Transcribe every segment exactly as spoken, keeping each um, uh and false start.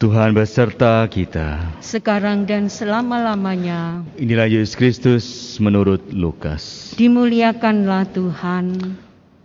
Tuhan beserta kita, sekarang dan selama-lamanya. Inilah Yesus Kristus menurut Lukas. Dimuliakanlah Tuhan.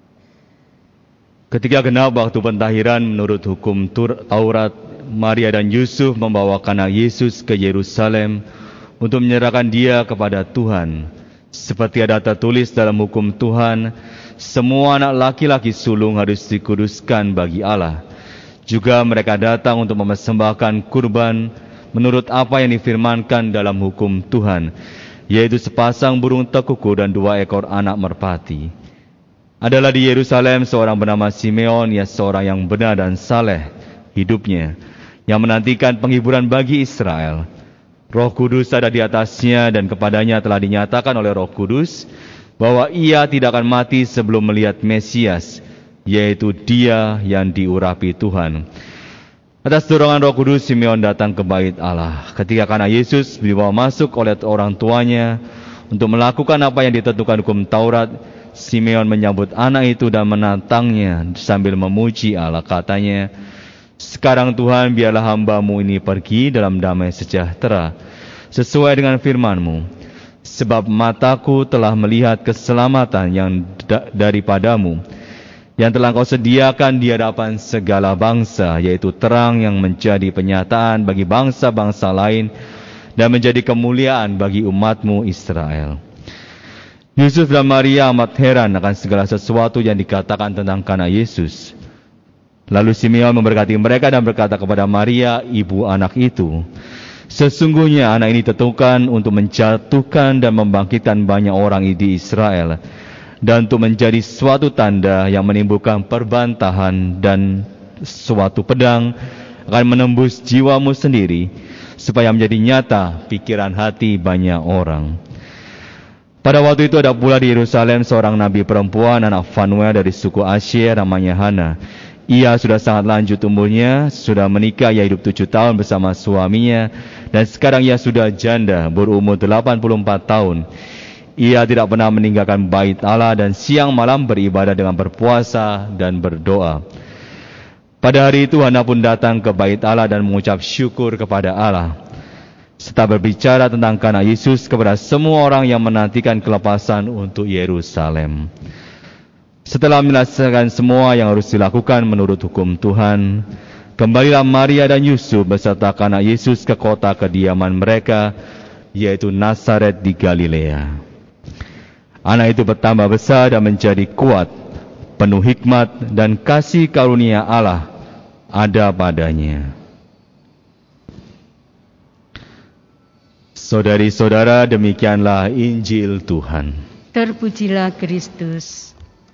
Ketika genap waktu pentahiran menurut hukum Taurat, Maria dan Yusuf membawakan anak Yesus ke Yerusalem untuk menyerahkan dia kepada Tuhan. Seperti ada tertulis dalam hukum Tuhan, semua anak laki-laki sulung harus dikuduskan bagi Allah. Juga mereka datang untuk mempersembahkan kurban menurut apa yang difirmankan dalam hukum Tuhan, yaitu sepasang burung tekuku dan dua ekor anak merpati. Adalah di Yerusalem seorang bernama Simeon, ia seorang yang benar dan saleh hidupnya, yang menantikan penghiburan bagi Israel. Roh Kudus ada di atasnya dan kepadanya telah dinyatakan oleh Roh Kudus bahwa ia tidak akan mati sebelum melihat Mesias, yaitu dia yang diurapi Tuhan. Atas dorongan Roh Kudus, Simeon datang ke bait Allah. Ketika anak Yesus dibawa masuk oleh orang tuanya untuk melakukan apa yang ditentukan hukum Taurat, Simeon menyambut anak itu dan menantangnya sambil memuji Allah. Katanya, "Sekarang Tuhan, biarlah hamba-Mu ini pergi dalam damai sejahtera, sesuai dengan firman-Mu. Sebab mataku telah melihat keselamatan yang da- daripadamu, yang telah Kau sediakan di hadapan segala bangsa, yaitu terang yang menjadi penyataan bagi bangsa-bangsa lain dan menjadi kemuliaan bagi umat-Mu Israel." Yusuf dan Maria amat heran akan segala sesuatu yang dikatakan tentang anak Yesus. Lalu Simeon memberkati mereka dan berkata kepada Maria, ibu anak itu, "Sesungguhnya anak ini ditentukan untuk menjatuhkan dan membangkitkan banyak orang di Israel, dan untuk menjadi suatu tanda yang menimbulkan perbantahan, dan suatu pedang akan menembus jiwamu sendiri, supaya menjadi nyata pikiran hati banyak orang." Pada waktu itu ada pula di Yerusalem seorang nabi perempuan, anak Fanuel dari suku Asyer, namanya Hana. Ia sudah sangat lanjut umurnya, sudah menikah, ia hidup tujuh tahun bersama suaminya, dan sekarang ia sudah janda, berumur delapan puluh empat tahun. Ia tidak pernah meninggalkan bait Allah dan siang malam beribadah dengan berpuasa dan berdoa. Pada hari itu Hana pun datang ke bait Allah dan mengucap syukur kepada Allah, serta berbicara tentang anak Yesus kepada semua orang yang menantikan kelepasan untuk Yerusalem. Setelah menyelesaikan semua yang harus dilakukan menurut hukum Tuhan, kembalilah Maria dan Yusuf beserta anak Yesus ke kota kediaman mereka, yaitu Nazaret di Galilea. Anak itu bertambah besar dan menjadi kuat, penuh hikmat dan kasih karunia Allah ada padanya. Saudari-saudara, demikianlah Injil Tuhan. Terpujilah Kristus.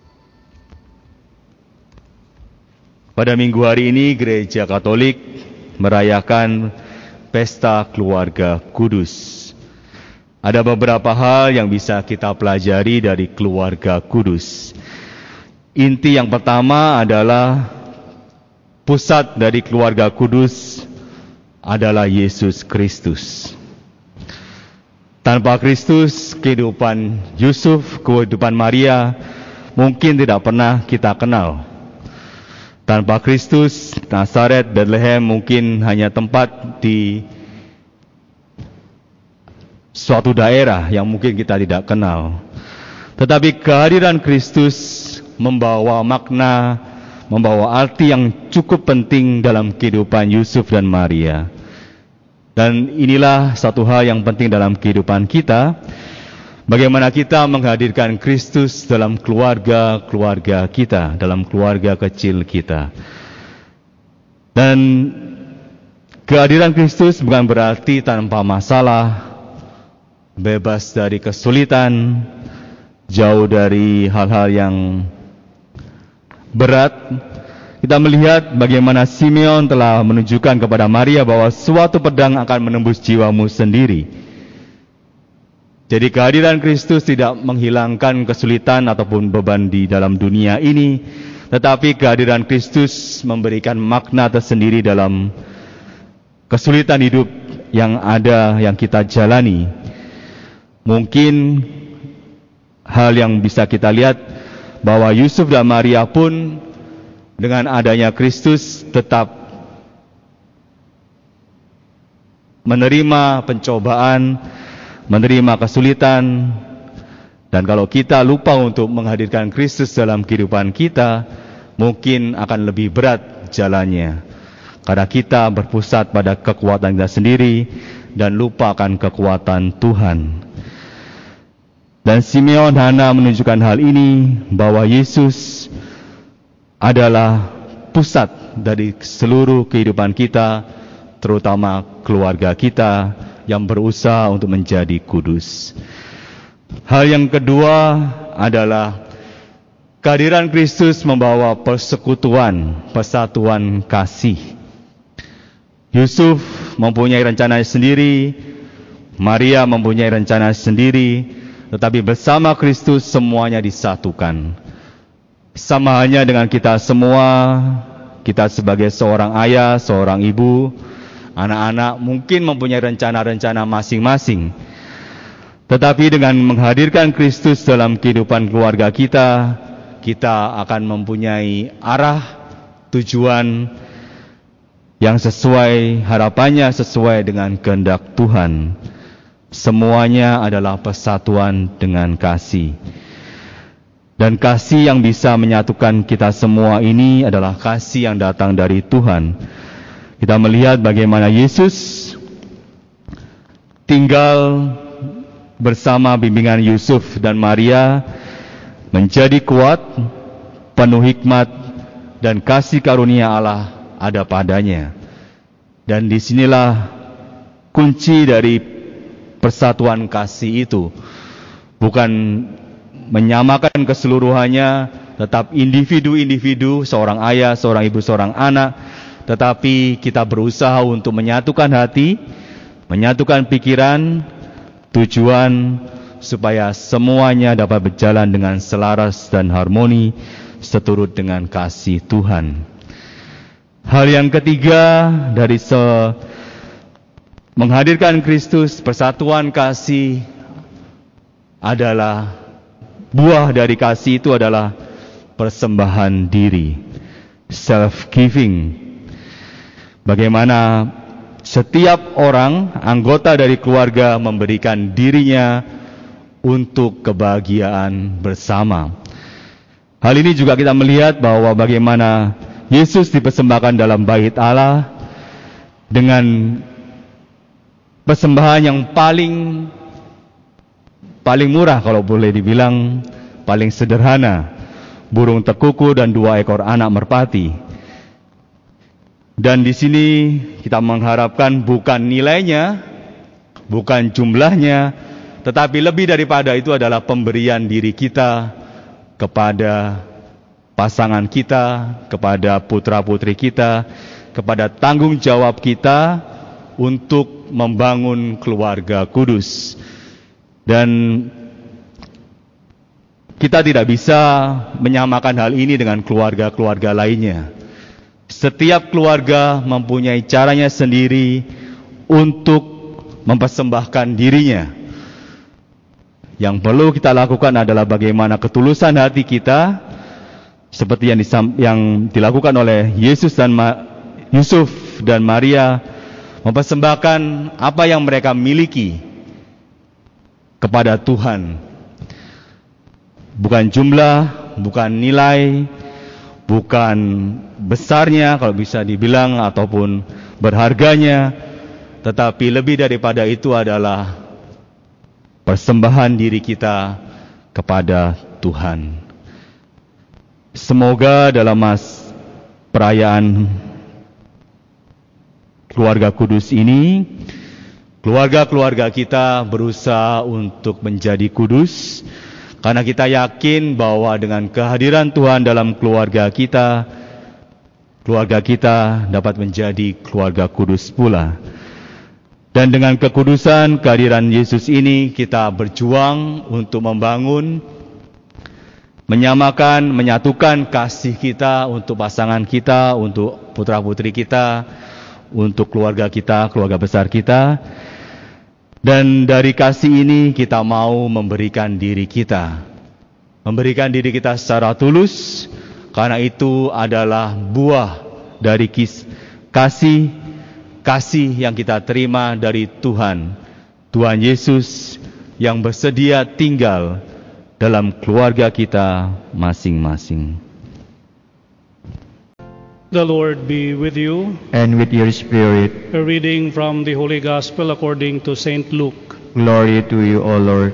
Pada minggu hari ini Gereja Katolik merayakan Pesta Keluarga Kudus. Ada beberapa hal yang bisa kita pelajari dari keluarga kudus. Inti yang pertama adalah pusat dari keluarga kudus adalah Yesus Kristus. Tanpa Kristus, kehidupan Yusuf, kehidupan Maria mungkin tidak pernah kita kenal. Tanpa Kristus, Nazaret, Bethlehem mungkin hanya tempat di suatu daerah yang mungkin kita tidak kenal. Tetapi kehadiran Kristus membawa makna, membawa arti yang cukup penting dalam kehidupan Yusuf dan Maria. Dan inilah satu hal yang penting dalam kehidupan kita, bagaimana kita menghadirkan Kristus dalam keluarga-keluarga kita, dalam keluarga kecil kita. Dan kehadiran Kristus bukan berarti tanpa masalah, bebas dari kesulitan, jauh dari hal-hal yang berat. Kita melihat bagaimana Simeon telah menunjukkan kepada Maria bahwa suatu pedang akan menembus jiwamu sendiri. Jadi kehadiran Kristus tidak menghilangkan kesulitan ataupun beban di dalam dunia ini, tetapi kehadiran Kristus memberikan makna tersendiri dalam kesulitan hidup yang ada, yang kita jalani. Mungkin hal yang bisa kita lihat bahwa Yusuf dan Maria pun dengan adanya Kristus tetap menerima pencobaan, menerima kesulitan. Dan kalau kita lupa untuk menghadirkan Kristus dalam kehidupan kita, mungkin akan lebih berat jalannya. Karena kita berpusat pada kekuatan kita sendiri dan lupakan kekuatan Tuhan. Dan Simeon Hana menunjukkan hal ini, bahwa Yesus adalah pusat dari seluruh kehidupan kita, terutama keluarga kita yang berusaha untuk menjadi kudus. Hal yang kedua adalah kehadiran Kristus membawa persekutuan, persatuan kasih. Yusuf mempunyai rencana sendiri, Maria mempunyai rencana sendiri, tetapi bersama Kristus semuanya disatukan. Sama halnya dengan kita semua, kita sebagai seorang ayah, seorang ibu, anak-anak mungkin mempunyai rencana-rencana masing-masing. Tetapi dengan menghadirkan Kristus dalam kehidupan keluarga kita, kita akan mempunyai arah, tujuan yang sesuai, harapannya sesuai dengan kehendak Tuhan. Semuanya adalah persatuan dengan kasih. Dan kasih yang bisa menyatukan kita semua ini adalah kasih yang datang dari Tuhan. Kita melihat bagaimana Yesus tinggal bersama bimbingan Yusuf dan Maria, menjadi kuat, penuh hikmat, dan kasih karunia Allah ada padanya. Dan disinilah kunci dari persatuan kasih itu. Bukan menyamakan keseluruhannya, tetap individu-individu, seorang ayah, seorang ibu, seorang anak, tetapi kita berusaha untuk menyatukan hati, menyatukan pikiran, tujuan, supaya semuanya dapat berjalan dengan selaras dan harmoni seturut dengan kasih Tuhan. Hal yang ketiga dari se menghadirkan Kristus, persatuan kasih, adalah buah dari kasih itu adalah persembahan diri, self-giving. Bagaimana setiap orang, anggota dari keluarga memberikan dirinya untuk kebahagiaan bersama. Hal ini juga kita melihat bahwa bagaimana Yesus dipersembahkan dalam bait Allah dengan persembahan yang paling paling murah, kalau boleh dibilang paling sederhana, burung tekuku dan dua ekor anak merpati. Dan di sini kita mengharapkan bukan nilainya, bukan jumlahnya, tetapi lebih daripada itu adalah pemberian diri kita kepada pasangan kita, kepada putra-putri kita, kepada tanggung jawab kita untuk membangun keluarga kudus. Dan kita tidak bisa menyamakan hal ini dengan keluarga-keluarga lainnya. Setiap keluarga mempunyai caranya sendiri untuk mempersembahkan dirinya. Yang perlu kita lakukan adalah bagaimana ketulusan hati kita, seperti yang, disam, yang dilakukan oleh Yesus dan Ma, Yusuf dan Maria, mempersembahkan apa yang mereka miliki kepada Tuhan. Bukan jumlah, bukan nilai, bukan besarnya kalau bisa dibilang, ataupun berharganya, tetapi lebih daripada itu adalah persembahan diri kita kepada Tuhan. Semoga dalam mas perayaan keluarga kudus ini, keluarga-keluarga kita berusaha untuk menjadi kudus, karena kita yakin bahwa dengan kehadiran Tuhan dalam keluarga kita, keluarga kita dapat menjadi keluarga kudus pula. Dan dengan kekudusan kehadiran Yesus ini, kita berjuang untuk membangun, menyamakan, menyatukan kasih kita untuk pasangan kita, untuk putra-putri kita, untuk keluarga kita, keluarga besar kita. Dan dari kasih ini kita mau memberikan diri kita, memberikan diri kita secara tulus, karena itu adalah buah dari kis, kasih kasih yang kita terima dari Tuhan, Tuhan Yesus yang bersedia tinggal dalam keluarga kita masing-masing. The Lord be with you. And with your spirit. A reading from the Holy Gospel according to Saint Luke. Glory to you, O Lord.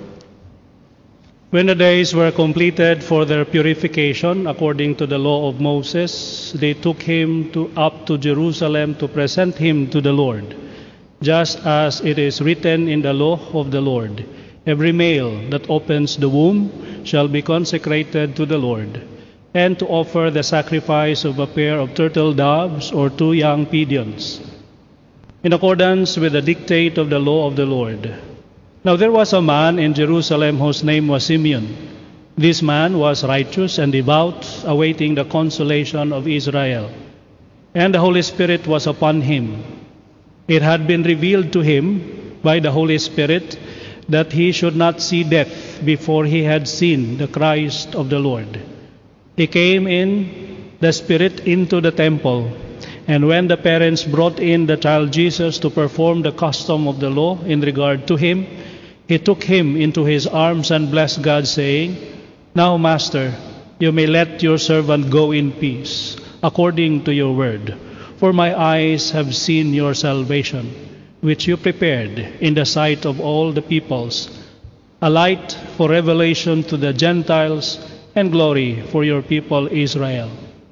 When the days were completed for their purification according to the law of Moses, they took him to, up to Jerusalem to present him to the Lord, just as it is written in the law of the Lord. Every male that opens the womb shall be consecrated to the Lord, and to offer the sacrifice of a pair of turtle doves or two young pigeons, in accordance with the dictate of the law of the Lord. Now there was a man in Jerusalem whose name was Simeon. This man was righteous and devout, awaiting the consolation of Israel. And the Holy Spirit was upon him. It had been revealed to him by the Holy Spirit that he should not see death before he had seen the Christ of the Lord. He came in the Spirit into the temple, and when the parents brought in the child Jesus to perform the custom of the law in regard to him, he took him into his arms and blessed God, saying, Now, Master, you may let your servant go in peace, according to your word. For my eyes have seen your salvation, which you prepared in the sight of all the peoples, a light for revelation to the Gentiles, and glory for your people Israel.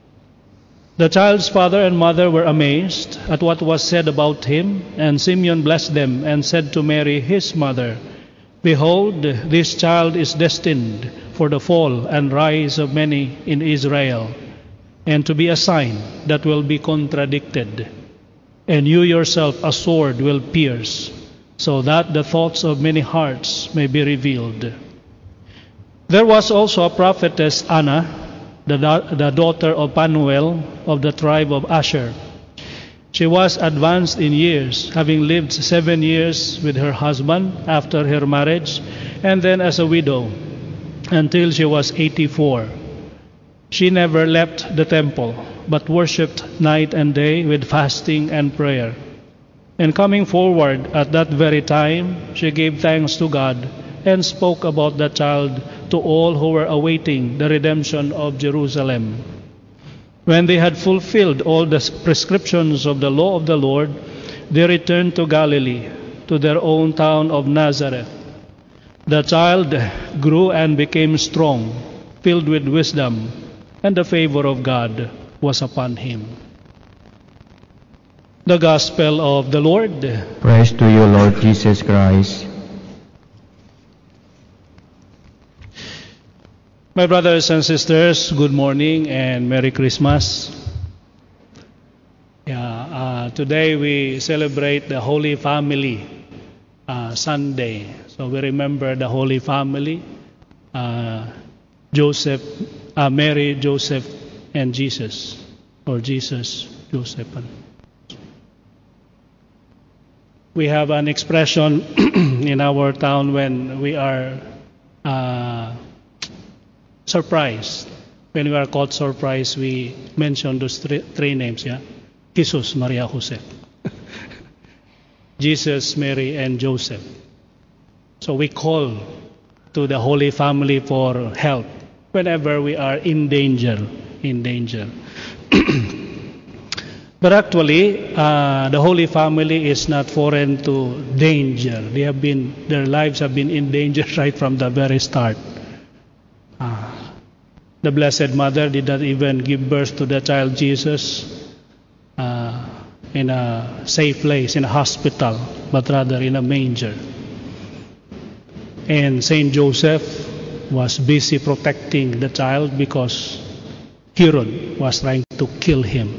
The child's father and mother were amazed at what was said about him, and Simeon blessed them and said to Mary his mother, Behold, this child is destined for the fall and rise of many in Israel, and to be a sign that will be contradicted. And you yourself a sword will pierce, so that the thoughts of many hearts may be revealed. There was also a prophetess Anna, the, da- the daughter of Phanuel of the tribe of Asher. She was advanced in years, having lived seven years with her husband after her marriage, and then as a widow, until she was eighty-four. She never left the temple, but worshipped night and day with fasting and prayer. And coming forward at that very time, she gave thanks to God and spoke about the child to all who were awaiting the redemption of Jerusalem. When they had fulfilled all the prescriptions of the law of the Lord, they returned to Galilee, to their own town of Nazareth. The child grew and became strong, filled with wisdom, and the favor of God was upon him. The Gospel of the Lord. Praise to you, Lord Jesus Christ. My brothers and sisters, good morning and Merry Christmas. Yeah, uh, today we celebrate the Holy Family uh, Sunday. So we remember the Holy Family, uh, Joseph, uh, Mary, Joseph, and Jesus, or Jesus, Joseph. We have an expression in our town when we are uh, surprised. When we are caught surprised, we mention those three, three names, yeah? Jesus, Maria, Jose. Jesus, Mary, and Joseph. So we call to the Holy Family for help whenever we are in danger, in danger. But actually, uh, the Holy Family is not foreign to danger. They have been, their lives have been in danger right from the very start. Uh, the Blessed Mother did not even give birth to the child Jesus uh, in a safe place, in a hospital, but rather in a manger. And Saint Joseph was busy protecting the child because Herod was trying to kill him.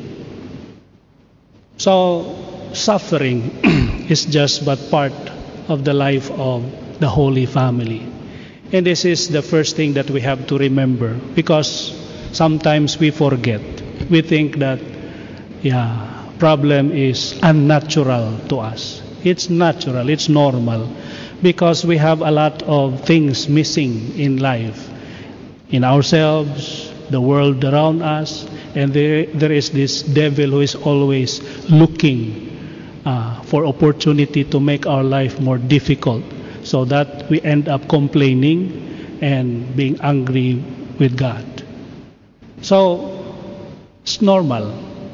So suffering is just but part of the life of the Holy Family. And this is the first thing that we have to remember, because sometimes we forget. We think that, yeah, problem is unnatural to us. It's natural, it's normal, because we have a lot of things missing in life, in ourselves, the world around us, and there, there is this devil who is always looking uh, for opportunity to make our life more difficult, so that we end up complaining and being angry with God. So it's normal.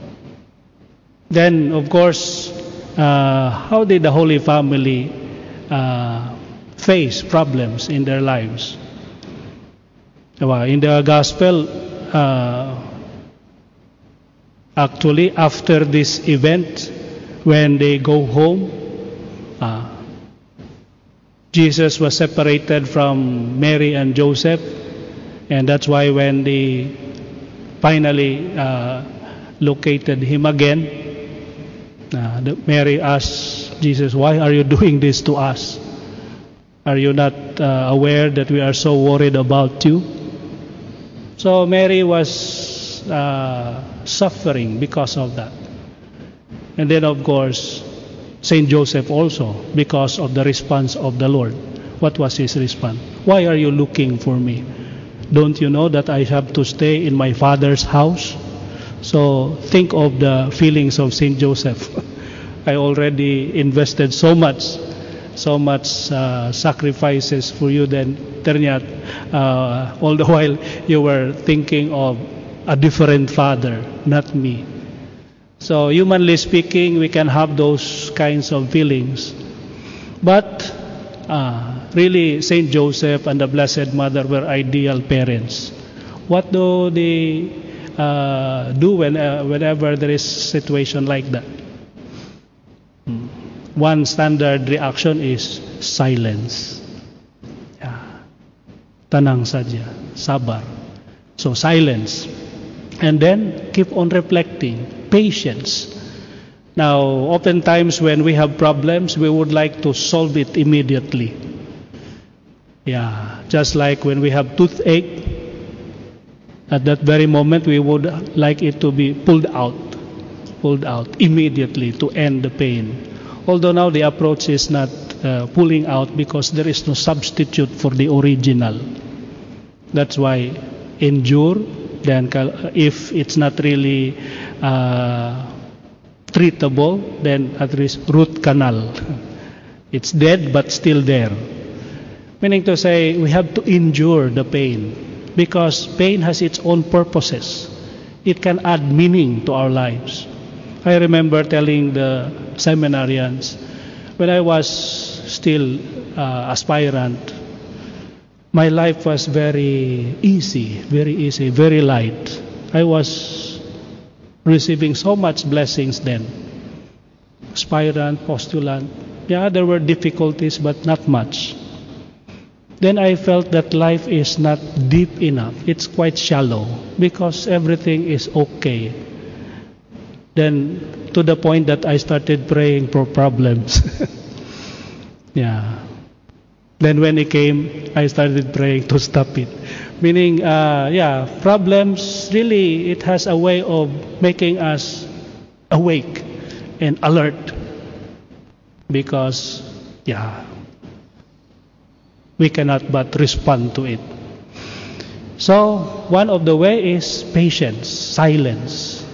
Then, of course, uh, how did the Holy Family uh, face problems in their lives? Well, in the Gospel, uh, actually, after this event, when they go home, uh, Jesus was separated from Mary and Joseph, and that's why when they finally uh, located him again, uh, the, Mary asked Jesus, "Why are you doing this to us? Are you not uh, aware that we are so worried about you?" So Mary was uh, suffering because of that. And then, of course, Saint Joseph also, because of the response of the Lord. What was his response? "Why are you looking for me? Don't you know that I have to stay in my Father's house?" So think of the feelings of Saint Joseph. I already invested so much, so much uh, sacrifices for you, then ternyata uh, all the while you were thinking of a different father, not me. So humanly speaking, we can have those kinds of feelings. But uh, really, Saint Joseph and the Blessed Mother were ideal parents. What do they uh, do when, uh, whenever there is a situation like that? Hmm. One standard reaction is silence. Yeah. Tanang saja, sabar. So silence. And then keep on reflecting. Patience. Now, oftentimes when we have problems, we would like to solve it immediately. Yeah, just like when we have toothache, at that very moment we would like it to be pulled out, pulled out immediately to end the pain. Although now the approach is not uh, pulling out, because there is no substitute for the original. That's why endure. Then if it's not really uh, treatable, then at least root canal. It's dead but still there. Meaning to say, we have to endure the pain, because pain has its own purposes. It can add meaning to our lives. I remember telling the seminarians, when I was still uh, aspirant, my life was very easy, very easy, very light. I was receiving so much blessings then. Aspirant, postulant. Yeah, there were difficulties, but not much. Then I felt that life is not deep enough. It's quite shallow, because everything is okay. Then to the point that I started praying for problems. Yeah. Then when it came, I started praying to stop it. Meaning, uh, yeah, problems, really, it has a way of making us awake and alert. Because, yeah, we cannot but respond to it. So, one of the way is patience, silence.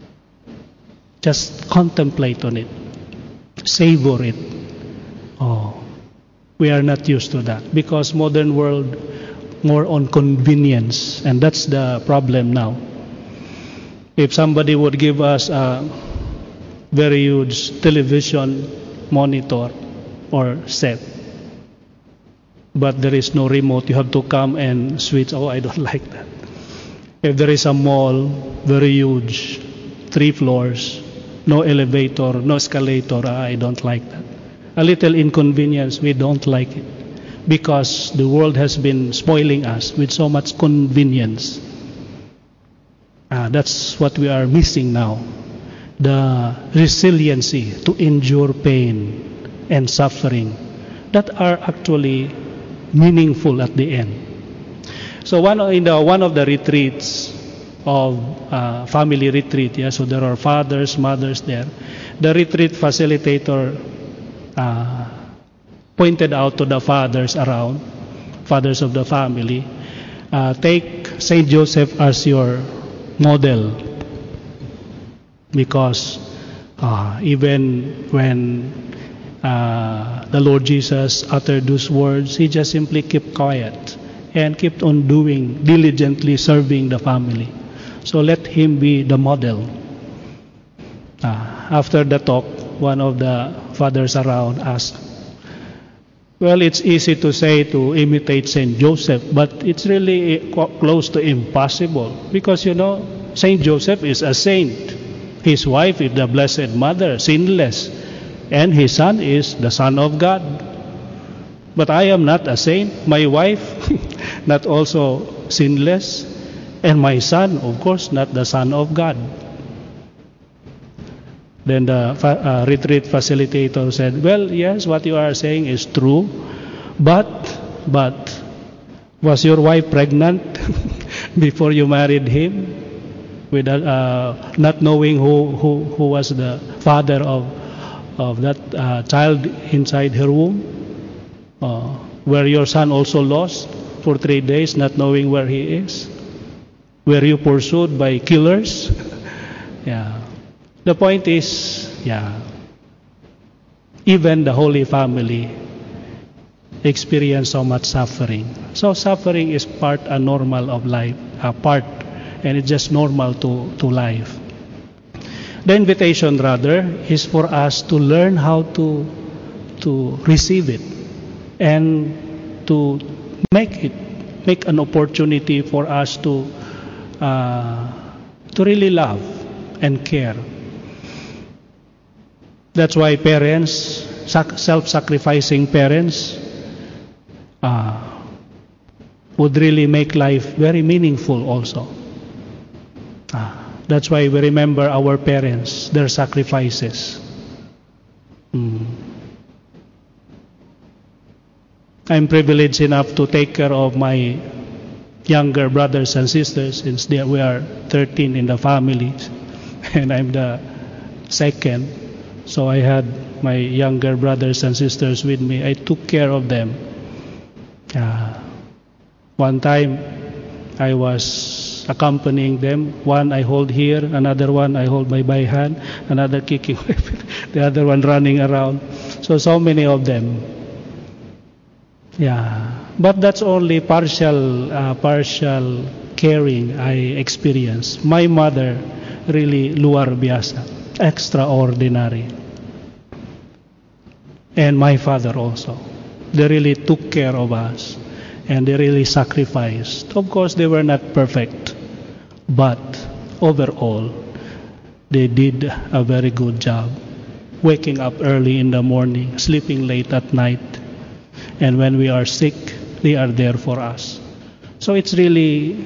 Just contemplate on it. Savor it. Oh. We are not used to that, because modern world more on convenience, and that's the problem now. If somebody would give us a very huge television monitor or set, but there is no remote, you have to come and switch. Oh, I don't like that. If there is a mall, very huge, three floors, no elevator, no escalator, I don't like that. A little inconvenience, we don't like it, because the world has been spoiling us with so much convenience. Ah, that's what we are missing now. The resiliency to endure pain and suffering that are actually meaningful at the end. So one in the one of the retreats of uh, family retreat, yeah, so there are fathers, mothers there. The retreat facilitator Uh, pointed out to the fathers around, fathers of the family, uh, take Saint Joseph as your model, because Uh, even when uh, the Lord Jesus uttered those words, he just simply kept quiet and kept on doing, diligently serving the family. So let him be the model. Uh, after the talk, one of the fathers around asked, well, it's easy to say to imitate Saint Joseph, but it's really close to impossible because, you know, Saint Joseph is a saint. His wife is the Blessed Mother, sinless, and his son is the Son of God. But I am not a saint. My wife, not also sinless, and my son, of course, not the Son of God. Then the uh, retreat facilitator said, well, yes, what you are saying is true, but, but, was your wife pregnant before you married him? With uh, not knowing who, who, who was the father of, of that uh, child inside her womb? Uh, were your son also lost for three days, not knowing where he is? Were you pursued by killers? Yeah. The point is, yeah, even the Holy Family experienced so much suffering. So suffering is part and normal of life, a part, and it's just normal to, to life. The invitation, rather, is for us to learn how to to receive it and to make it, make an opportunity for us to uh, to really love and care. That's why parents, self-sacrificing parents, uh, would really make life very meaningful also. Uh, that's why we remember our parents, their sacrifices. Mm. I'm privileged enough to take care of my younger brothers and sisters, since they, we are thirteen in the family, and I'm the second. So I had my younger brothers and sisters with me. I took care of them. Uh, one time I was accompanying them. One I hold here, another one I hold my by hand, another kicking the other one running around. So, so many of them. Yeah, but that's only partial, uh, partial caring I experienced. My mother, really luar biasa, extraordinary. And my father also. They really took care of us. And they really sacrificed. Of course, they were not perfect. But overall, they did a very good job. Waking up early in the morning, sleeping late at night. And when we are sick, they are there for us. So it's really,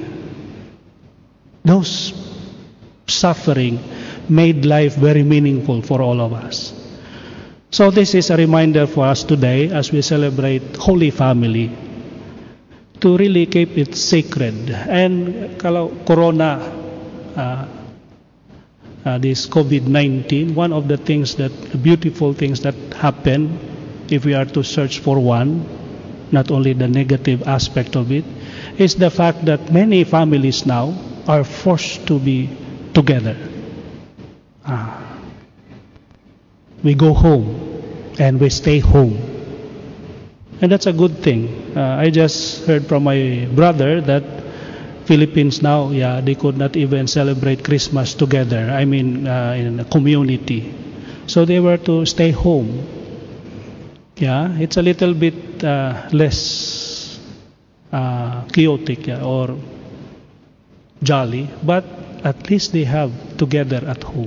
those suffering made life very meaningful for all of us. So this is a reminder for us today as we celebrate Holy Family to really keep it sacred. And kalau Corona, uh, uh, this COVID nineteen, one of the things that, the beautiful things that happen, if we are to search for one, not only the negative aspect of it, is the fact that many families now are forced to be together. Ah. We go home and we stay home. And that's a good thing. Uh, I just heard from my brother that Philippines now, yeah, they could not even celebrate Christmas together. I mean, uh, in a community. So they were to stay home. Yeah, it's a little bit uh, less uh, chaotic, yeah, or jolly, but at least they have together at home.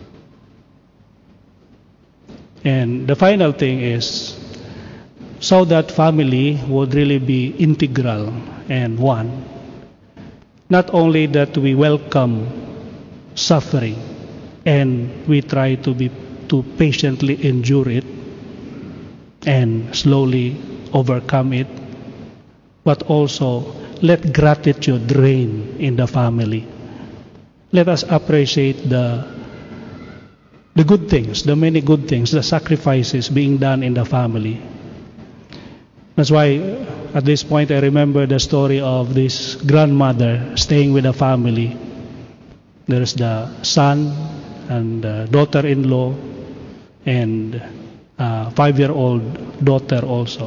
And the final thing is, so that family would really be integral and one. Not only that we welcome suffering and we try to be to patiently endure it and slowly overcome it, but also let gratitude reign in the family. Let us appreciate the the good things, the many good things, the sacrifices being done in the family. That's why at this point I remember the story of this grandmother staying with the family. There's the son, and uh, daughter-in-law, and uh, five-year-old daughter also.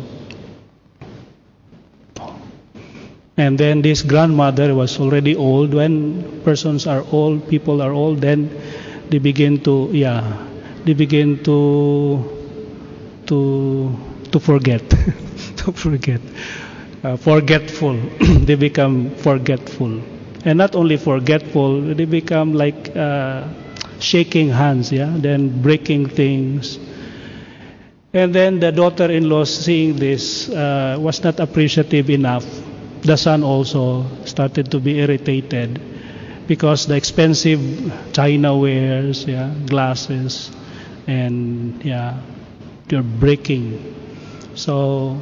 And then this grandmother was already old. When persons are old, people are old, then they begin to, yeah, they begin to, to, to forget, to forget, uh, forgetful. They become forgetful, and not only forgetful, they become like uh, shaking hands, yeah, then breaking things. And then the daughter-in-law, seeing this, uh, was not appreciative enough. The son also started to be irritated because the expensive china wares, yeah, glasses, and yeah, they're breaking. So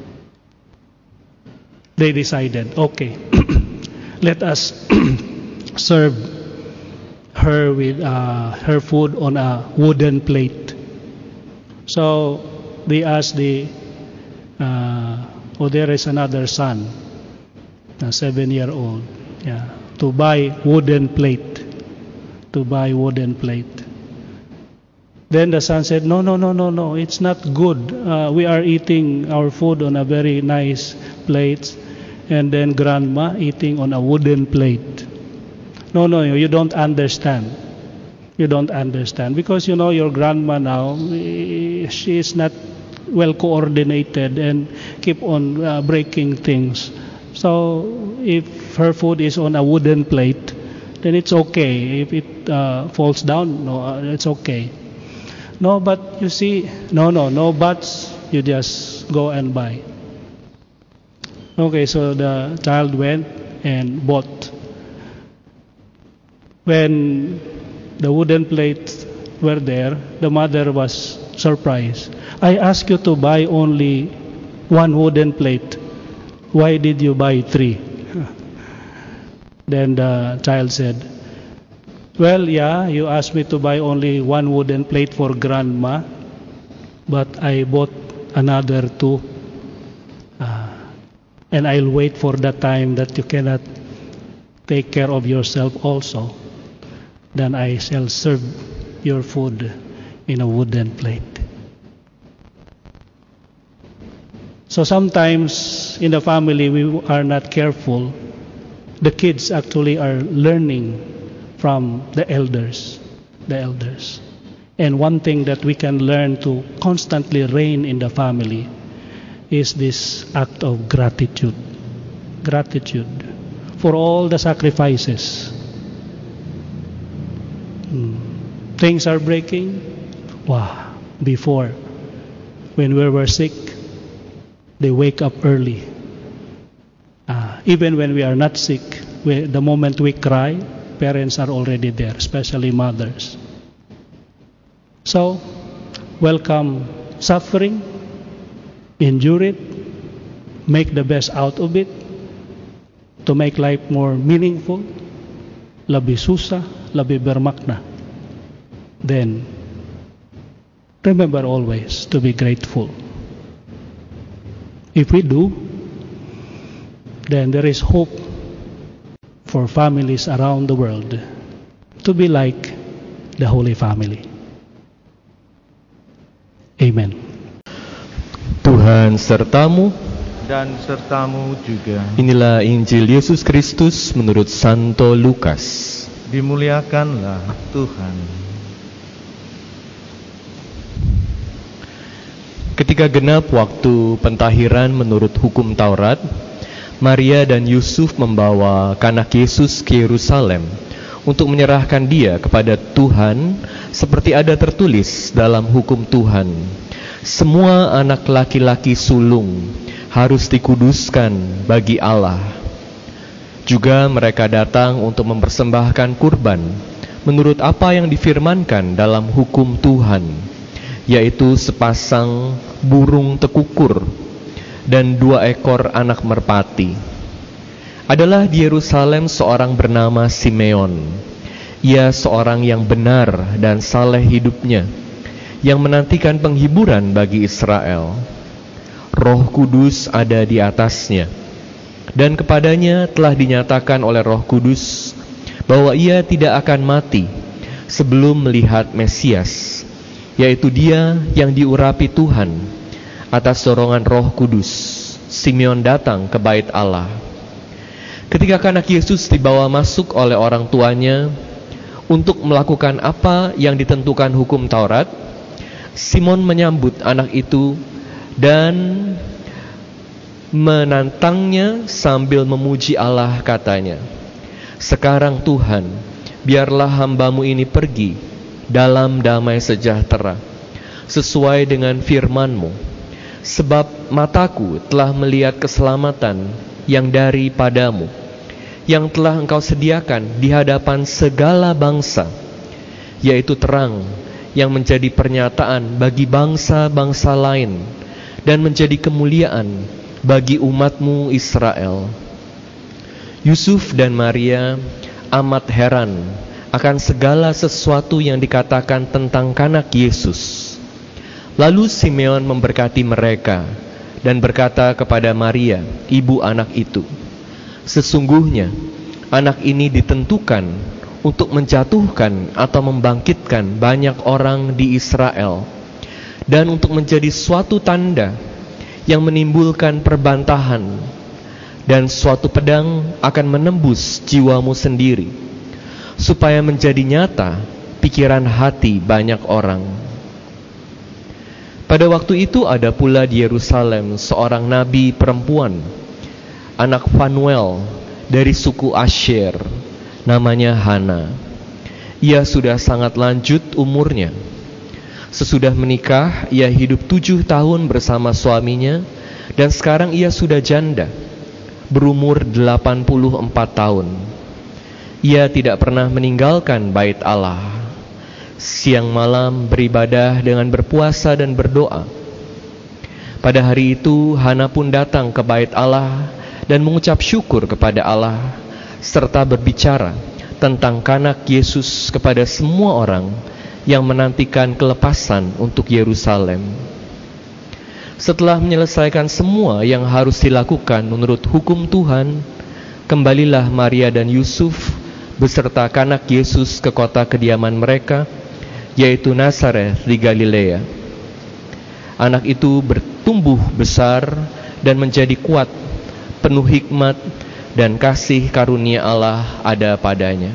they decided, okay, let us serve her with uh, her food on a wooden plate. So they asked the, uh, oh, there is another son, a seven-year-old, yeah, to buy wooden plate, to buy wooden plate. Then the son said, no, no, no, no, no, it's not good. Uh, we are eating our food on a very nice plate, and then grandma eating on a wooden plate. No, no, you don't understand. You don't understand. Because, you know, your grandma now, she is not well coordinated and keep on uh, breaking things. So if her food is on a wooden plate, then it's okay. If it uh, falls down, no, uh, it's okay. No, but you see, no, no, no buts. You just go and buy. Okay, so the child went and bought. When the wooden plates were there, the mother was surprised. I asked you to buy only one wooden plate. Why did you buy three? Then the child said, well, yeah, you asked me to buy only one wooden plate for grandma, but I bought another two. Uh, and I'll wait for the time that you cannot take care of yourself also. Then I shall serve your food in a wooden plate. So sometimes in the family we are not careful. The kids actually are learning from the elders, the elders. And one thing that we can learn to constantly reign in the family is this act of gratitude. Gratitude for all the sacrifices. Hmm. Things are breaking. Wow. Before, when we were sick, they wake up early. Uh, even when we are not sick, we, the moment we cry, parents are already there, especially mothers. So, welcome suffering, endure it, make the best out of it, to make life more meaningful, lebih susah, lebih bermakna. Then, remember always to be grateful. If we do, then there is hope for families around the world to be like the Holy Family. Amen. Tuhan sertamu dan sertamu juga. Inilah Injil Yesus Kristus menurut Santo Lukas. Dimuliakanlah Tuhan. Ketika genap waktu pentahiran menurut hukum Taurat, Maria dan Yusuf membawa anak Yesus ke Yerusalem untuk menyerahkan dia kepada Tuhan seperti ada tertulis dalam hukum Tuhan. Semua anak laki-laki sulung harus dikuduskan bagi Allah. Juga mereka datang untuk mempersembahkan kurban menurut apa yang difirmankan dalam hukum Tuhan, yaitu sepasang burung tekukur dan dua ekor anak merpati. Adalah di Yerusalem seorang bernama Simeon. Ia seorang yang benar dan saleh hidupnya, yang menantikan penghiburan bagi Israel. Roh Kudus ada di atasnya, dan kepadanya telah dinyatakan oleh Roh Kudus bahwa ia tidak akan mati sebelum melihat Mesias, yaitu Dia yang diurapi Tuhan. Atas dorongan Roh Kudus, Simeon datang ke bait Allah. Ketika anak Yesus dibawa masuk oleh orang tuanya untuk melakukan apa yang ditentukan hukum Taurat, Simon menyambut anak itu dan menantangnya sambil memuji Allah, katanya, "Sekarang Tuhan, biarlah hambamu ini pergi dalam damai sejahtera, sesuai dengan firman-Mu, sebab mataku telah melihat keselamatan yang daripadamu, yang telah Engkau sediakan di hadapan segala bangsa, yaitu terang yang menjadi pernyataan bagi bangsa-bangsa lain dan menjadi kemuliaan bagi umat-Mu Israel." Yusuf dan Maria amat heran akan segala sesuatu yang dikatakan tentang kanak Yesus. Lalu Simeon memberkati mereka dan berkata kepada Maria, ibu anak itu, "Sesungguhnya anak ini ditentukan untuk menjatuhkan atau membangkitkan banyak orang di Israel, dan untuk menjadi suatu tanda yang menimbulkan perbantahan, dan suatu pedang akan menembus jiwamu sendiri, supaya menjadi nyata pikiran hati banyak orang." Pada waktu itu ada pula di Yerusalem seorang nabi perempuan, anak Fanuel dari suku Asher, namanya Hana. Ia sudah sangat lanjut umurnya. Sesudah menikah, ia hidup tujuh tahun bersama suaminya, dan sekarang ia sudah janda, berumur delapan puluh empat tahun. Ia tidak pernah meninggalkan bait Allah. Siang malam beribadah dengan berpuasa dan berdoa. Pada hari itu Hana pun datang ke bait Allah dan mengucap syukur kepada Allah, serta berbicara tentang kanak Yesus kepada semua orang yang menantikan kelepasan untuk Yerusalem. Setelah menyelesaikan semua yang harus dilakukan menurut hukum Tuhan, kembalilah Maria dan Yusuf beserta kanak Yesus ke kota kediaman mereka, yaitu Nazaret di Galilea. Anak itu bertumbuh besar dan menjadi kuat, penuh hikmat, dan kasih karunia Allah ada padanya.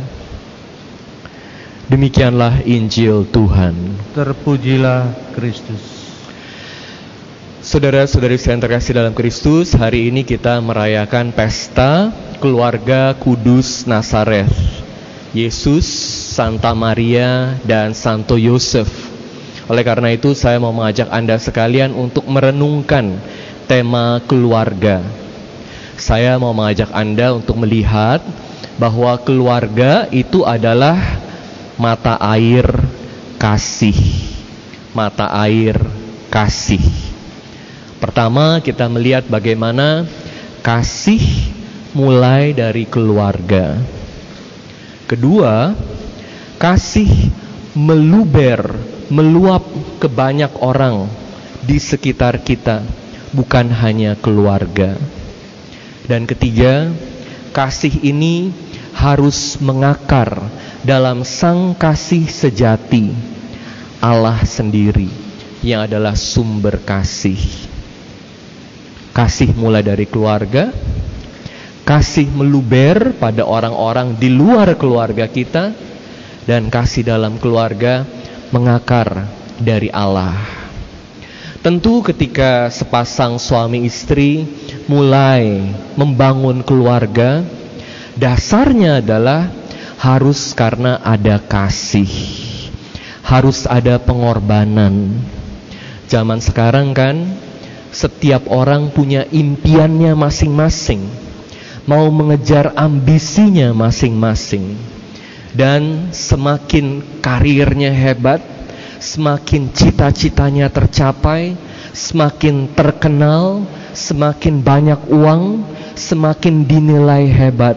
Demikianlah Injil Tuhan. Terpujilah Kristus. Saudara-saudari yang terkasih dalam Kristus, hari ini kita merayakan pesta keluarga kudus Nazaret, Yesus, Santa Maria, dan Santo Yosef. Oleh karena itu saya mau mengajak Anda sekalian untuk merenungkan tema keluarga. Saya mau mengajak Anda untuk melihat bahwa keluarga itu adalah mata air kasih. Mata air kasih. Pertama, kita melihat bagaimana kasih mulai dari keluarga. Kedua, kasih meluber, meluap ke banyak orang di sekitar kita, bukan hanya keluarga. Dan ketiga, kasih ini harus mengakar dalam sang kasih sejati, Allah sendiri yang adalah sumber kasih. Kasih mulai dari keluarga, kasih meluber pada orang-orang di luar keluarga kita, dan kasih dalam keluarga mengakar dari Allah. Tentu ketika sepasang suami istri mulai membangun keluarga, dasarnya adalah harus karena ada kasih, harus ada pengorbanan. Zaman sekarang kan setiap orang punya impiannya masing-masing, mau mengejar ambisinya masing-masing. Dan semakin karirnya hebat, semakin cita-citanya tercapai, semakin terkenal, semakin banyak uang, semakin dinilai hebat.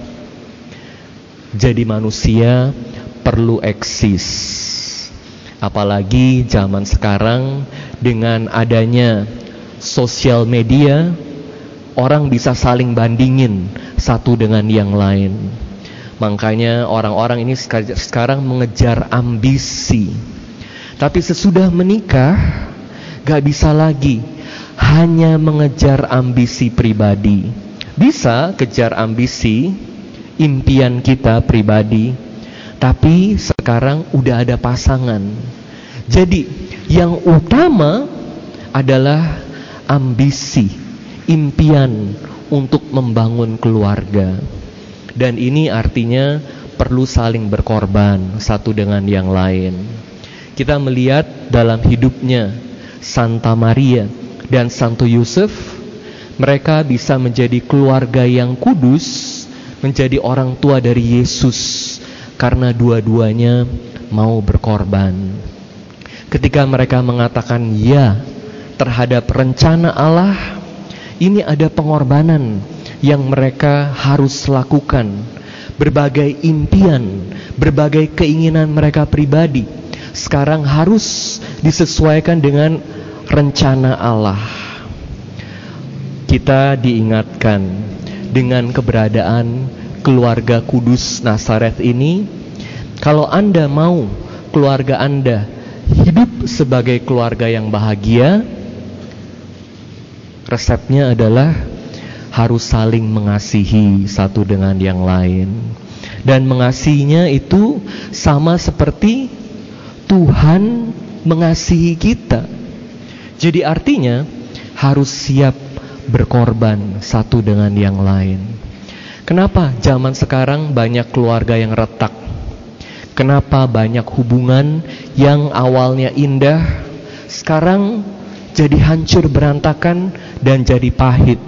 Jadi manusia perlu eksis. Apalagi zaman sekarang dengan adanya sosial media, orang bisa saling bandingin satu dengan yang lain. Makanya orang-orang ini sekarang mengejar ambisi. Tapi sesudah menikah, gak bisa lagi hanya mengejar ambisi pribadi. Bisa kejar ambisi, impian kita pribadi, tapi sekarang udah ada pasangan. Jadi yang utama adalah ambisi, impian untuk membangun keluarga. Dan ini artinya perlu saling berkorban satu dengan yang lain. Kita melihat dalam hidupnya Santa Maria dan Santo Yusuf, mereka bisa menjadi keluarga yang kudus, menjadi orang tua dari Yesus, karena dua-duanya mau berkorban. Ketika mereka mengatakan ya terhadap rencana Allah, ini ada pengorbanan yang mereka harus lakukan. Berbagai impian, berbagai keinginan mereka pribadi sekarang harus disesuaikan dengan rencana Allah. Kita diingatkan dengan keberadaan keluarga kudus Nazaret ini. Kalau Anda mau keluarga Anda hidup sebagai keluarga yang bahagia, resepnya adalah harus saling mengasihi satu dengan yang lain. Dan mengasihinya itu sama seperti Tuhan mengasihi kita. Jadi artinya harus siap berkorban satu dengan yang lain. Kenapa zaman sekarang banyak keluarga yang retak? Kenapa banyak hubungan yang awalnya indah sekarang jadi hancur berantakan dan jadi pahit?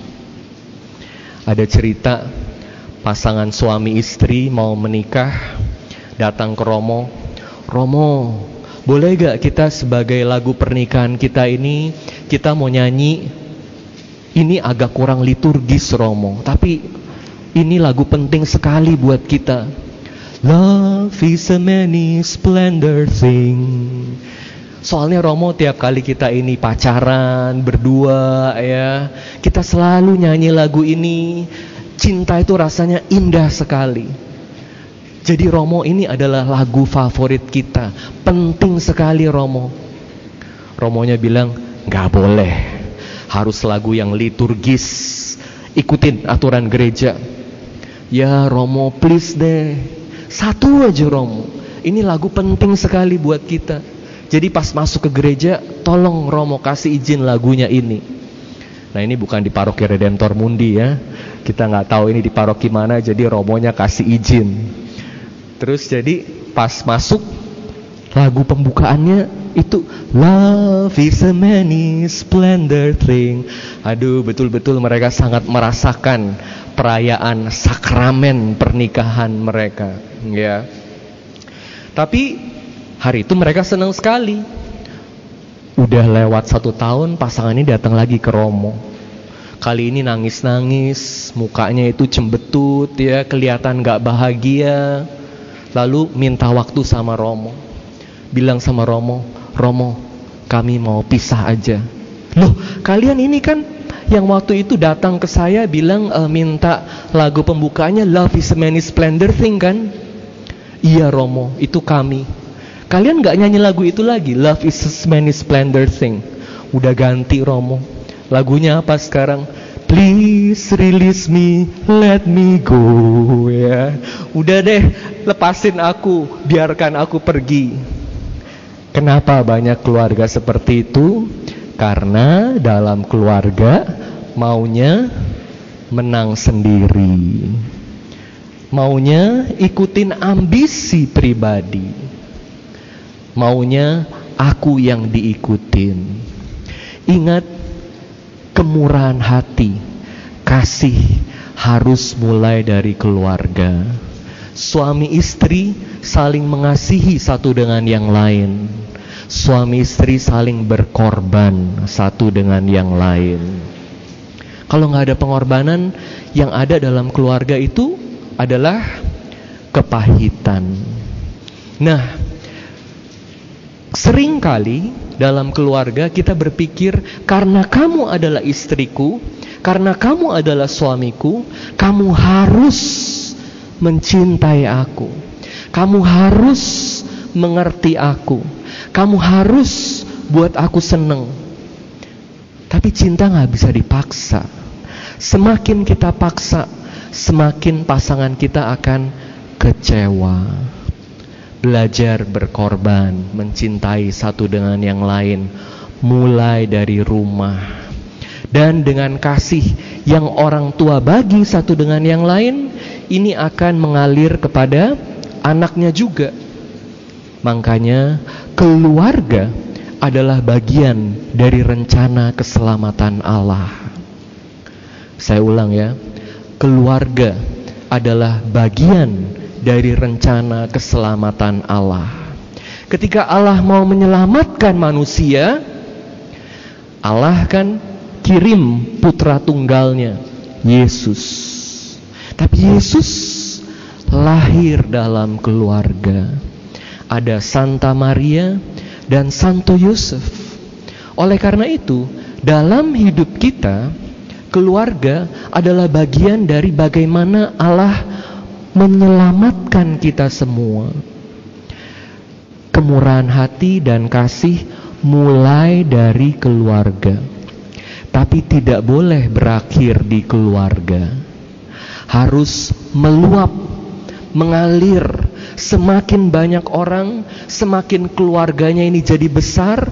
Ada cerita pasangan suami istri mau menikah, datang ke Romo. Romo, boleh gak kita sebagai lagu pernikahan kita ini, kita mau nyanyi, ini agak kurang liturgis Romo, tapi ini lagu penting sekali buat kita. Love is a many splendor thing. Soalnya Romo, tiap kali kita ini pacaran, berdua ya, kita selalu nyanyi lagu ini. Cinta itu rasanya indah sekali. Jadi Romo, ini adalah lagu favorit kita, penting sekali Romo. Romonya bilang, gak boleh, harus lagu yang liturgis, ikutin aturan gereja. Ya Romo, please deh, satu aja Romo, ini lagu penting sekali buat kita. Jadi pas masuk ke gereja, tolong Romo kasih izin lagunya ini. Nah ini bukan di paroki Redemptor Mundi ya, kita gak tahu ini di paroki mana, jadi Romonya kasih izin. Terus jadi pas masuk lagu pembukaannya itu Love is a many splendor thing. Aduh, betul-betul mereka sangat merasakan perayaan sakramen pernikahan mereka, ya. Tapi hari itu mereka senang sekali. Udah lewat satu tahun, pasangan ini datang lagi ke Romo. Kali ini nangis-nangis, mukanya itu cembetut ya, kelihatan gak bahagia. Lalu minta waktu sama Romo. Bilang sama Romo, Romo, kami mau pisah aja. Loh, kalian ini kan yang waktu itu datang ke saya bilang e, minta lagu pembukanya Love is a many splendor thing kan? Iya Romo, itu kami. Kalian gak nyanyi lagu itu lagi, Love is a many splendor thing. Udah ganti Romo. Lagunya apa sekarang? Please release me, let me go ya. Udah deh, lepasin aku, biarkan aku pergi. Kenapa banyak keluarga seperti itu? Karena dalam keluarga maunya menang sendiri, maunya ikutin ambisi pribadi, maunya aku yang diikutin. Ingat, kemurahan hati, kasih harus mulai dari keluarga. Suami istri saling mengasihi satu dengan yang lain. Suami istri saling berkorban satu dengan yang lain. Kalau nggak ada pengorbanan, yang ada dalam keluarga itu adalah kepahitan. Nah, seringkali dalam keluarga kita berpikir, karena kamu adalah istriku, karena kamu adalah suamiku, kamu harus mencintai aku. Kamu harus mengerti aku. Kamu harus buat aku seneng. Tapi cinta gak bisa dipaksa. Semakin kita paksa, semakin pasangan kita akan kecewa. Belajar berkorban, mencintai satu dengan yang lain, mulai dari rumah. Dan dengan kasih yang orang tua bagi satu dengan yang lain, ini akan mengalir kepada anaknya juga. Makanya keluarga adalah bagian dari rencana keselamatan Allah. Saya ulang ya, keluarga adalah bagian dari rencana keselamatan Allah. Ketika Allah mau menyelamatkan manusia, Allah kan kirim putra tunggalnya, Yesus. Tapi Yesus lahir dalam keluarga. Ada Santa Maria dan Santo Yosef. Oleh karena itu, dalam hidup kita, keluarga adalah bagian dari bagaimana Allah menyelamatkan kita semua. Kemurahan hati dan kasih mulai dari keluarga, tapi tidak boleh berakhir di keluarga. Harus meluap, mengalir. Semakin banyak orang, semakin keluarganya ini jadi besar,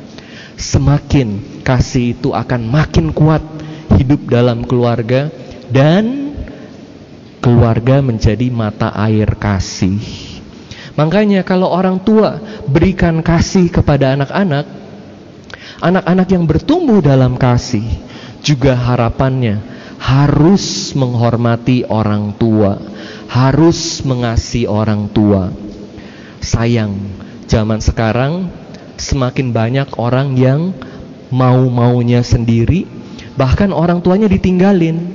semakin kasih itu akan makin kuat hidup dalam keluarga, dan keluarga menjadi mata air kasih. Makanya kalau orang tua berikan kasih kepada anak-anak, anak-anak yang bertumbuh dalam kasih juga harapannya harus menghormati orang tua, harus mengasihi orang tua. Sayang, zaman sekarang semakin banyak orang yang mau-maunya sendiri, bahkan orang tuanya ditinggalin.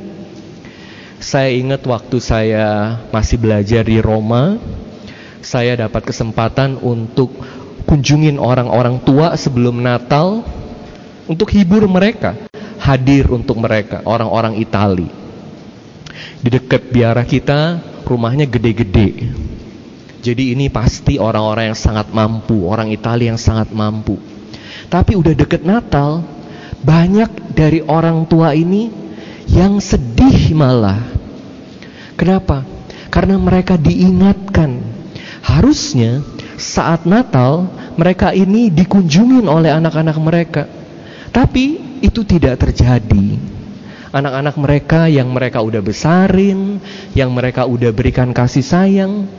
Saya ingat waktu saya masih belajar di Roma, saya dapat kesempatan untuk kunjungin orang-orang tua sebelum Natal, untuk hibur mereka, hadir untuk mereka, orang-orang Itali. Di dekat biara kita, rumahnya gede-gede. Jadi ini pasti orang-orang yang sangat mampu, orang Italia yang sangat mampu. Tapi udah deket Natal, banyak dari orang tua ini yang sedih malah. Kenapa? Karena mereka diingatkan, harusnya saat Natal mereka ini dikunjungin oleh anak-anak mereka. Tapi itu tidak terjadi. Anak-anak mereka yang mereka udah besarin, yang mereka udah berikan kasih sayang,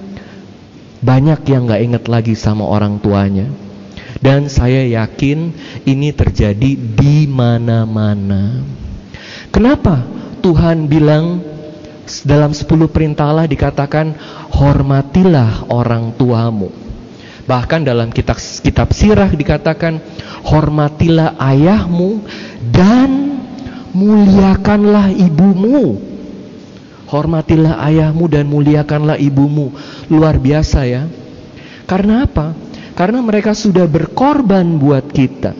banyak yang gak inget lagi sama orang tuanya. Dan saya yakin ini terjadi di mana-mana. Kenapa Tuhan bilang dalam sepuluh perintah Allah dikatakan hormatilah orang tuamu? Bahkan dalam kitab, kitab Sirah dikatakan hormatilah ayahmu dan muliakanlah ibumu. Hormatilah ayahmu dan muliakanlah ibumu. Luar biasa ya. Karena apa? Karena mereka sudah berkorban buat kita.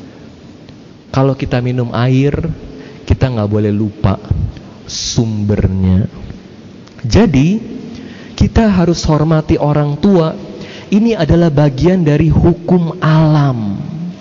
Kalau kita minum air, kita gak boleh lupa sumbernya. Jadi kita harus hormati orang tua. Ini adalah bagian dari hukum alam.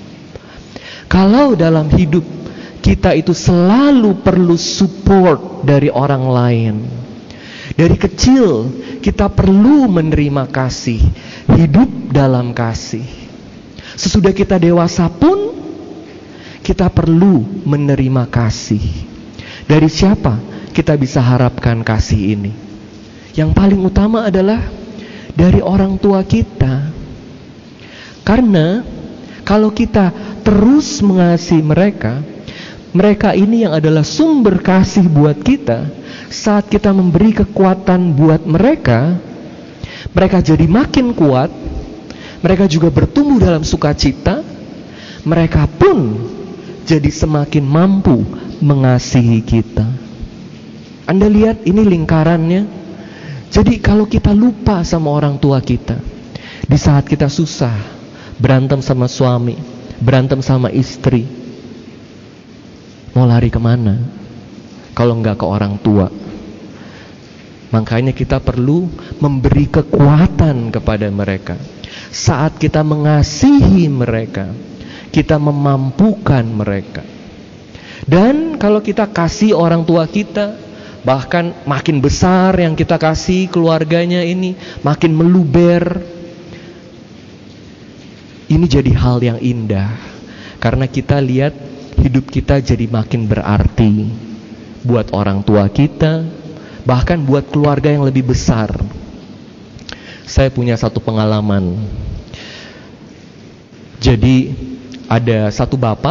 Kalau dalam hidup kita itu selalu perlu support dari orang lain. Dari kecil kita perlu menerima kasih, hidup dalam kasih. Sesudah kita dewasa pun kita perlu menerima kasih. Dari siapa kita bisa harapkan kasih ini? Yang paling utama adalah dari orang tua kita. Karena kalau kita terus mengasihi mereka, mereka ini yang adalah sumber kasih buat kita. Saat kita memberi kekuatan buat mereka, mereka jadi makin kuat. Mereka juga bertumbuh dalam sukacita. Mereka pun jadi semakin mampu mengasihi kita. Anda lihat ini lingkarannya. Jadi kalau kita lupa sama orang tua kita, di saat kita susah, berantem sama suami, berantem sama istri, mau lari kemana? Kalau enggak ke orang tua. Makanya kita perlu memberi kekuatan kepada mereka. Saat kita mengasihi mereka, kita memampukan mereka. Dan kalau kita kasih orang tua kita, bahkan makin besar yang kita kasih keluarganya ini, makin meluber. Ini jadi hal yang indah, karena kita lihat hidup kita jadi makin berarti buat orang tua kita, bahkan buat keluarga yang lebih besar. Saya punya satu pengalaman. Jadi ada satu bapak,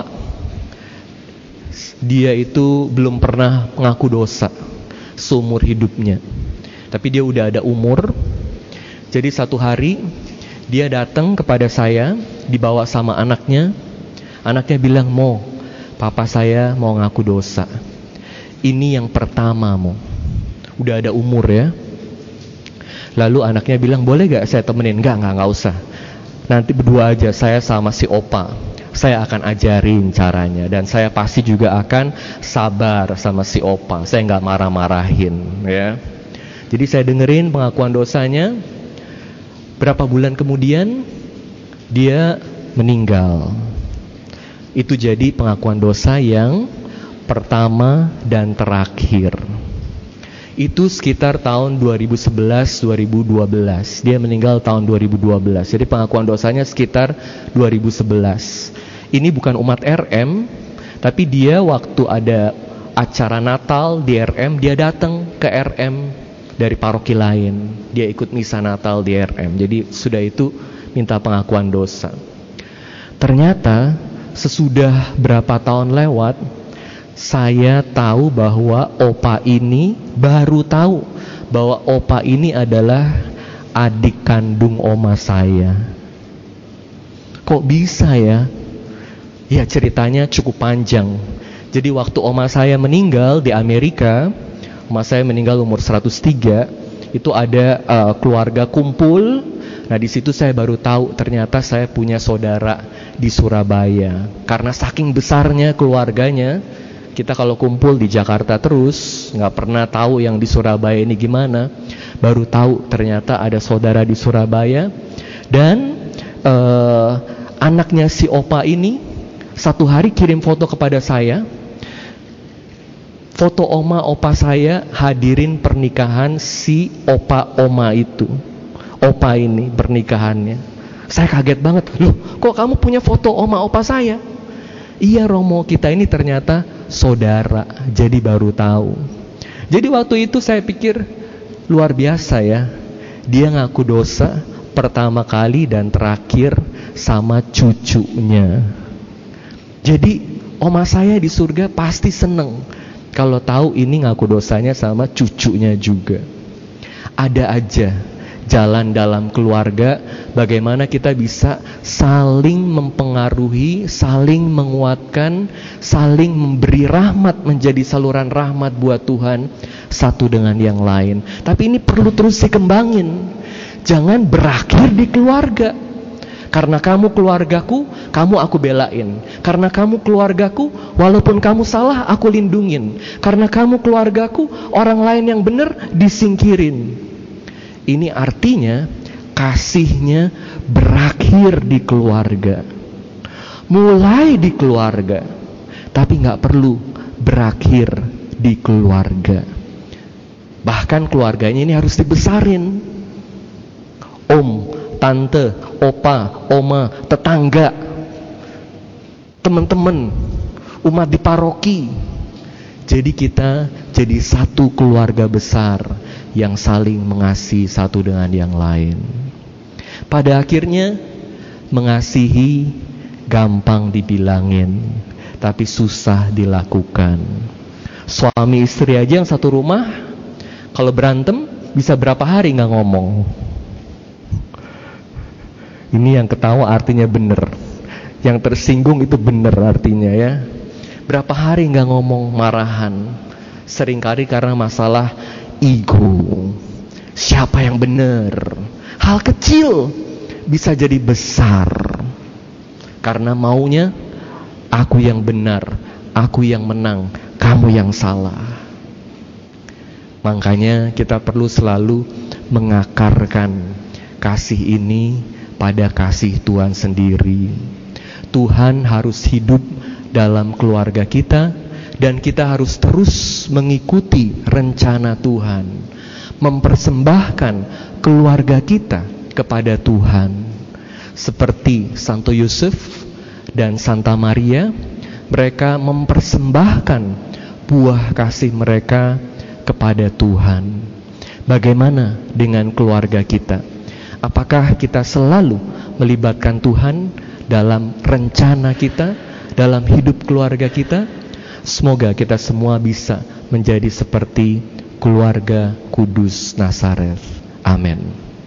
dia itu belum pernah mengaku dosa seumur hidupnya. Tapi dia udah ada umur. Jadi satu hari dia datang kepada saya, dibawa sama anaknya. Anaknya bilang, "Mo, papa saya mau ngaku dosa. Ini yang pertama, Mo." Udah ada umur ya. Lalu anaknya bilang, "Boleh gak saya temenin?" Enggak, enggak, enggak usah. Nanti berdua aja, saya sama si opa. Saya akan ajarin caranya, dan saya pasti juga akan sabar sama si opa. Saya nggak marah-marahin, ya. Jadi saya dengerin pengakuan dosanya. Berapa bulan kemudian dia meninggal. Itu jadi pengakuan dosa yang pertama dan terakhir. Itu sekitar tahun dua ribu sebelas dua ribu dua belas. Dia meninggal tahun dua ribu dua belas. Jadi pengakuan dosanya sekitar dua ribu sebelas. Ini bukan umat R M, tapi dia waktu ada acara Natal di R M, dia datang ke R M dari paroki lain. Dia ikut misa Natal di R M. Jadi sudah itu minta pengakuan dosa. Ternyata sesudah berapa tahun lewat, saya tahu bahwa opa ini, baru tahu bahwa opa ini adalah adik kandung oma saya. Kok bisa ya? Ya, ceritanya cukup panjang. Jadi waktu oma saya meninggal di Amerika, oma saya meninggal umur seratus tiga, itu ada uh, keluarga kumpul. Nah, di situ saya baru tahu ternyata saya punya saudara di Surabaya. Karena saking besarnya keluarganya, kita kalau kumpul di Jakarta terus, nggak pernah tahu yang di Surabaya ini gimana. Baru tahu ternyata ada saudara di Surabaya. Dan uh, anaknya si opa ini satu hari kirim foto kepada saya. Foto oma opa saya hadirin pernikahan si opa oma itu. Opa ini pernikahannya. Saya kaget banget. Loh, kok kamu punya foto oma opa saya? Iya Romo, kita ini ternyata saudara. Jadi baru tahu. Jadi waktu itu saya pikir luar biasa ya. Dia ngaku dosa pertama kali dan terakhir sama cucunya. Jadi oma saya di surga pasti seneng kalau tahu ini ngaku dosanya sama cucunya juga. Ada aja jalan dalam keluarga bagaimana kita bisa saling mempengaruhi, saling menguatkan, saling memberi rahmat, menjadi saluran rahmat buat Tuhan satu dengan yang lain. Tapi ini perlu terus dikembangin. Jangan berakhir di keluarga. Karena kamu keluargaku, kamu aku belain. Karena kamu keluargaku, walaupun kamu salah, aku lindungin. Karena kamu keluargaku, orang lain yang benar disingkirin. Ini artinya kasihnya berakhir di keluarga. Mulai di keluarga, tapi gak perlu berakhir di keluarga. Bahkan keluarganya ini harus dibesarin. Om, tante, opa, oma, tetangga, teman-teman, umat di paroki. Jadi kita jadi satu keluarga besar yang saling mengasihi satu dengan yang lain. Pada akhirnya mengasihi gampang dibilangin, tapi susah dilakukan. Suami istri aja yang satu rumah, kalau berantem bisa berapa hari gak ngomong. Ini yang ketawa artinya benar, yang tersinggung itu benar artinya ya. Berapa hari gak ngomong, marahan. Seringkali karena masalah ego. Siapa yang benar? Hal kecil bisa jadi besar karena maunya aku yang benar, aku yang menang, kamu yang salah. Makanya kita perlu selalu mengakarkan kasih ini pada kasih Tuhan sendiri. Tuhan harus hidup dalam keluarga kita, dan kita harus terus mengikuti rencana Tuhan, mempersembahkan keluarga kita kepada Tuhan. Seperti Santo Yusuf dan Santa Maria, mereka mempersembahkan buah kasih mereka kepada Tuhan. Bagaimana dengan keluarga kita? Apakah kita selalu melibatkan Tuhan dalam rencana kita, dalam hidup keluarga kita? Semoga kita semua bisa menjadi seperti keluarga kudus Nazaret. Amin.